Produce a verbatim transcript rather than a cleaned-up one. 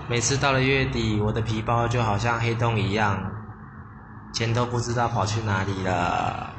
每次到了月底，我的皮包就好像黑洞一样，钱都不知道跑去哪里了。